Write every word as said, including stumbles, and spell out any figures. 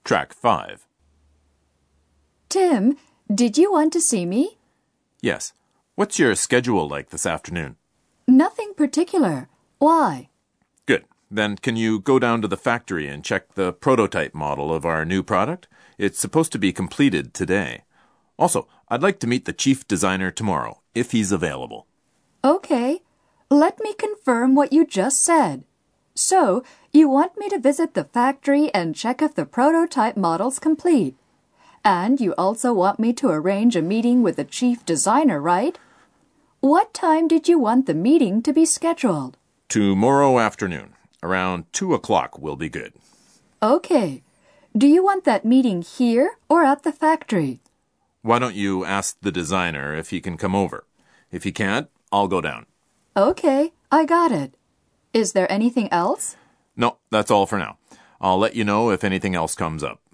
Track five. Tim, did you want to see me? Yes. What's your schedule like this afternoon? Nothing particular. Why? Good. Then can you go down to the factory and check the prototype model of our new product? It's supposed to be completed today. Also, I'd like to meet the chief designer tomorrow, if he's available. Okay. Let me confirm what you just said. So, you want me to visit the factory and check if the prototype model's complete. And you also want me to arrange a meeting with the chief designer, right? What time did you want the meeting to be scheduled? Tomorrow afternoon. Around two o'clock will be good. Okay. Do you want that meeting here or at the factory? Why don't you ask the designer if he can come over? If he can't, I'll go down. Okay, I got it. Is there anything else? No, that's all for now. I'll let you know if anything else comes up.